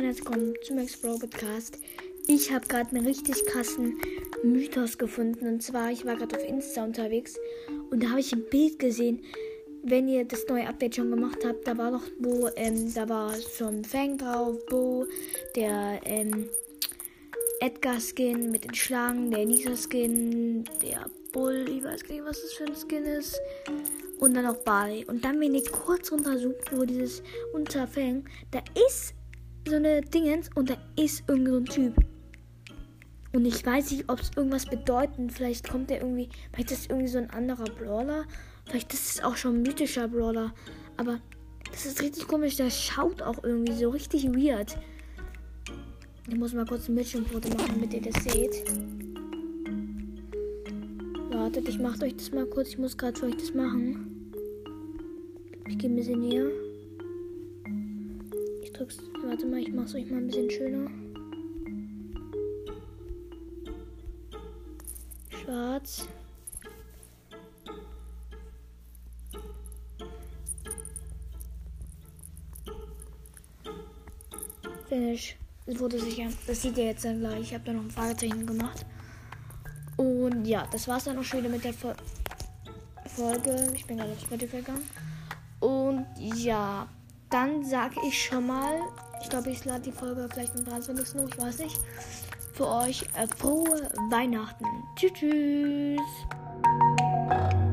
herzlich willkommen zum Max Bro Podcast. Ich habe gerade einen richtig krassen Mythos gefunden. Und zwar, ich war gerade auf Insta unterwegs und da habe ich ein Bild gesehen. Wenn ihr das neue Update schon gemacht habt, da war noch Bo, da war schon Fang drauf, Bo, der Edgar-Skin mit den Schlangen, der Nisa-Skin, der Bull, ich weiß gar nicht, was das für ein Skin ist. Und dann auch Barley. Und dann, wenn ihr kurz runterzoomt, wo dieses Unterfang, da ist so eine Dingens und da ist irgend so ein Typ. Und ich weiß nicht, ob es irgendwas bedeutet. Vielleicht kommt der irgendwie, vielleicht ist das irgendwie so ein anderer Brawler. Vielleicht ist es auch schon ein mythischer Brawler. Aber das ist richtig komisch. Der schaut auch irgendwie so richtig weird. Ich muss mal kurz ein Bildschirmfoto machen, damit ihr das seht. Wartet, ich mache euch das mal kurz. Ich muss gerade für euch das machen. Ich gehe ein bisschen näher. Ich drück's. Warte mal, ich mache es euch mal ein bisschen schöner. Schwarz. Finish. Es wurde sicher. Das seht ihr jetzt dann gleich. Ich habe da noch ein Fragezeichen gemacht. Und ja, das war's dann auch schon wieder mit der Folge. Ich bin gerade auf Spotify gegangen. Und ja, dann sage ich schon mal, ich glaube, ich lade die Folge vielleicht am 23. noch, ich weiß nicht. Für euch frohe Weihnachten. Tschüss.